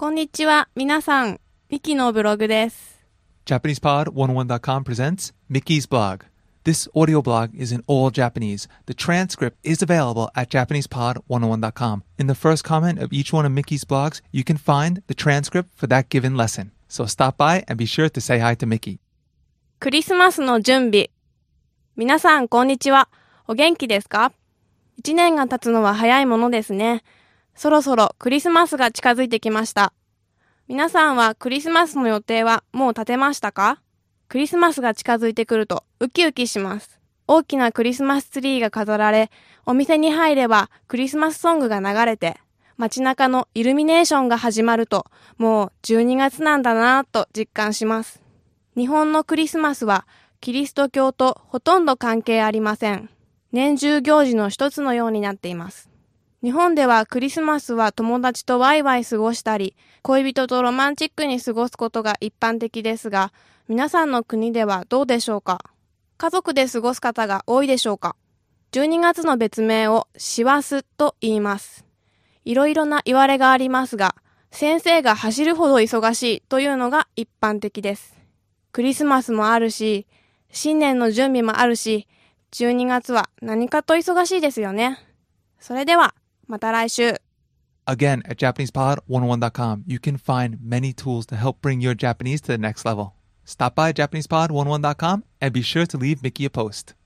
こんにちは、皆さん。ミキのブログです。 JapanesePod101.com presents Mickey's blog. This audio blog is in all Japanese. The transcript is available at JapanesePod101.com. In the first comment of each one of Mickey's blogs, you can find the transcript for that given lesson. So stop by and be sure to say hi to Mickey. クリスマスの準備。皆さん、こんにちは。お元気ですか？1年が経つのは早いものですね。そろそろクリスマスが近づいてきました。皆さんはクリスマスの予定はもう立てましたか？クリスマスが近づいてくるとウキウキします。大きなクリスマスツリーが飾られ、お店に入ればクリスマスソングが流れて、街中のイルミネーションが始まると、もう12月なんだなぁと実感します。日本のクリスマスはキリスト教とほとんど関係ありません。年中行事の一つのようになっています。日本ではクリスマスは友達とワイワイ過ごしたり、恋人とロマンチックに過ごすことが一般的ですが、皆さんの国ではどうでしょうか？家族で過ごす方が多いでしょうか？12月の別名を師走と言います。いろいろな言われがありますが、先生が走るほど忙しいというのが一般的です。クリスマスもあるし、新年の準備もあるし、12月は何かと忙しいですよね。それでは、また来週。 Again, at JapanesePod101.com, you can find many tools to help bring your Japanese to the next level. Stop by JapanesePod101.com and be sure to leave Mickey a post.